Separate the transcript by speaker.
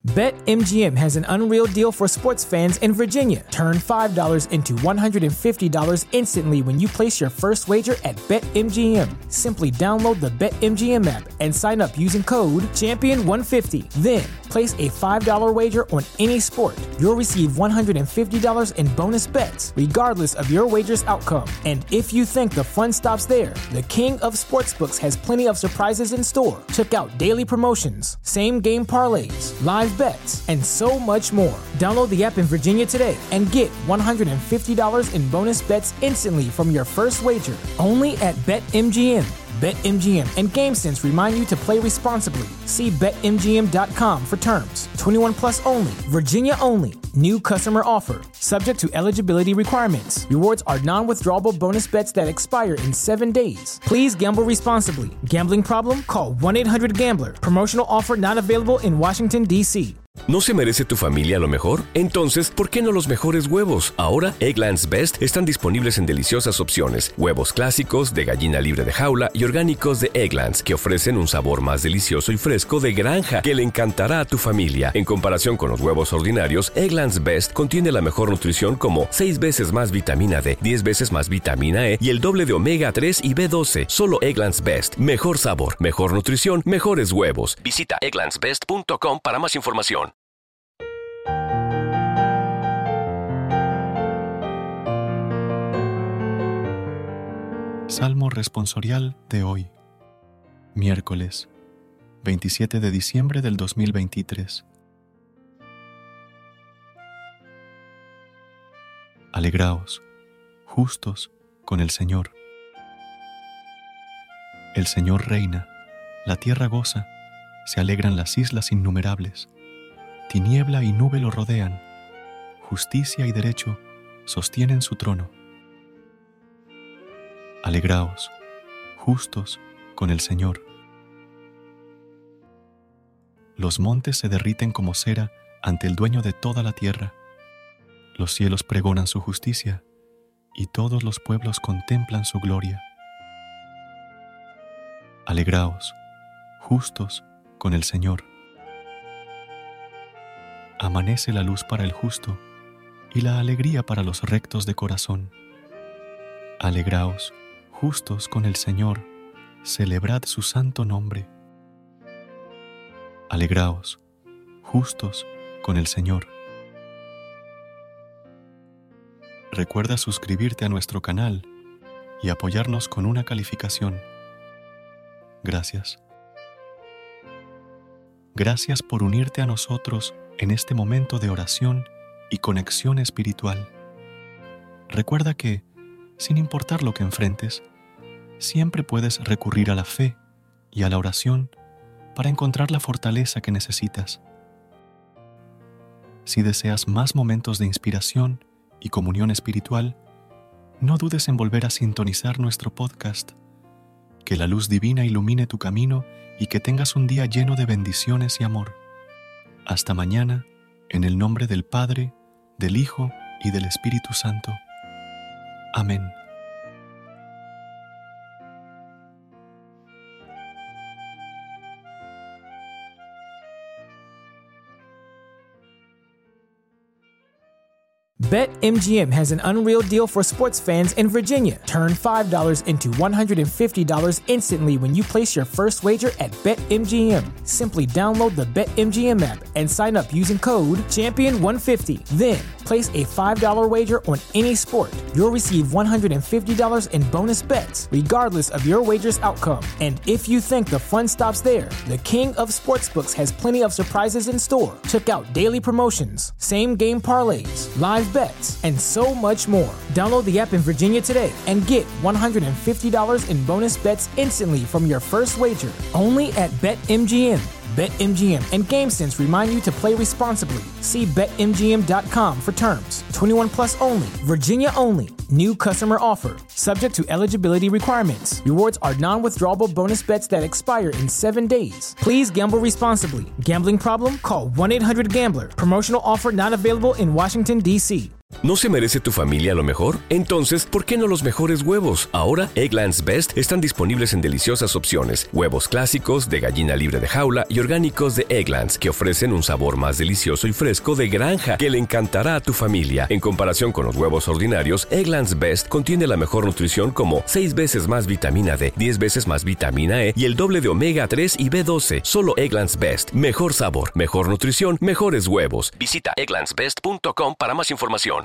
Speaker 1: BetMGM has an unreal deal for sports fans in Virginia. Turn $5 into $150 instantly when you place your first wager at BetMGM. Simply download the BetMGM app and sign up using code Champion150. Then, place a $5 wager on any sport. You'll receive $150 in bonus bets, regardless of your wager's outcome. And if you think the fun stops there, the King of Sportsbooks has plenty of surprises in store. Check out daily promotions, same-game parlays, live bets, and so much more. Download the app in Virginia today and get $150 in bonus bets instantly from your first wager. Only at BetMGM. BetMGM and GameSense remind you to play responsibly. See BetMGM.com for terms. 21 plus only. Virginia only. New customer offer. Subject to eligibility requirements. Rewards are non-withdrawable bonus bets that expire in 7 days. Please gamble responsibly. Gambling problem? Call 1-800-GAMBLER. Promotional offer not available in Washington, D.C.
Speaker 2: ¿No se merece tu familia lo mejor? Entonces, ¿por qué no los mejores huevos? Ahora, Eggland's Best están disponibles en deliciosas opciones. Huevos clásicos, de gallina libre de jaula y orgánicos de Eggland's, que ofrecen un sabor más delicioso y fresco de granja que le encantará a tu familia. En comparación con los huevos ordinarios, Eggland's Best contiene la mejor nutrición como 6 veces más vitamina D, 10 veces más vitamina E y el doble de omega 3 y B12. Solo Eggland's Best. Mejor sabor, mejor nutrición, mejores huevos. Visita egglandsbest.com para más información.
Speaker 3: Salmo responsorial de hoy, miércoles 27 de diciembre del 2023. Alegraos, justos, con el Señor. El Señor reina, la tierra goza, se alegran las islas innumerables. Tiniebla y nube lo rodean, justicia y derecho sostienen su trono. Alegraos, justos, con el Señor. Los montes se derriten como cera ante el dueño de toda la tierra. Los cielos pregonan su justicia, y todos los pueblos contemplan su gloria. Alegraos, justos, con el Señor. Amanece la luz para el justo, y la alegría para los rectos de corazón. Alegraos, justos con el Señor, celebrad su santo nombre. Alegraos, justos con el Señor. Recuerda suscribirte a nuestro canal y apoyarnos con una calificación. Gracias. Gracias por unirte a nosotros en este momento de oración y conexión espiritual. Recuerda que, sin importar lo que enfrentes, siempre puedes recurrir a la fe y a la oración para encontrar la fortaleza que necesitas. Si deseas más momentos de inspiración y comunión espiritual, no dudes en volver a sintonizar nuestro podcast. Que la luz divina ilumine tu camino y que tengas un día lleno de bendiciones y amor. Hasta mañana, en el nombre del Padre, del Hijo y del Espíritu Santo. Amén.
Speaker 1: BetMGM has an unreal deal for sports fans in Virginia. Turn $5 into $150 instantly when you place your first wager at BetMGM. Simply download the BetMGM app and sign up using code Champion150. Then, place a $5 wager on any sport. You'll receive $150 in bonus bets, regardless of your wager's outcome. And if you think the fun stops there, the King of Sportsbooks has plenty of surprises in store. Check out daily promotions, same-game parlays, live bets, and so much more. Download the app in Virginia today and get $150 in bonus bets instantly from your first wager. Only at BetMGM. BetMGM and GameSense remind you to play responsibly. See BetMGM.com for terms. 21 plus only. Virginia only. New customer offer. Subject to eligibility requirements. Rewards are non-withdrawable bonus bets that expire in 7 days. Please gamble responsibly. Gambling problem? Call 1-800-GAMBLER. Promotional offer not available in Washington, D.C.
Speaker 2: ¿No se merece tu familia lo mejor? Entonces, ¿por qué no los mejores huevos? Ahora, Eggland's Best están disponibles en deliciosas opciones. Huevos clásicos, de gallina libre de jaula y orgánicos de Eggland's, que ofrecen un sabor más delicioso y fresco de granja que le encantará a tu familia. En comparación con los huevos ordinarios, Eggland's Best contiene la mejor nutrición como 6 veces más vitamina D, 10 veces más vitamina E y el doble de omega 3 y B12. Solo Eggland's Best. Mejor sabor, mejor nutrición, mejores huevos. Visita egglandsbest.com para más información.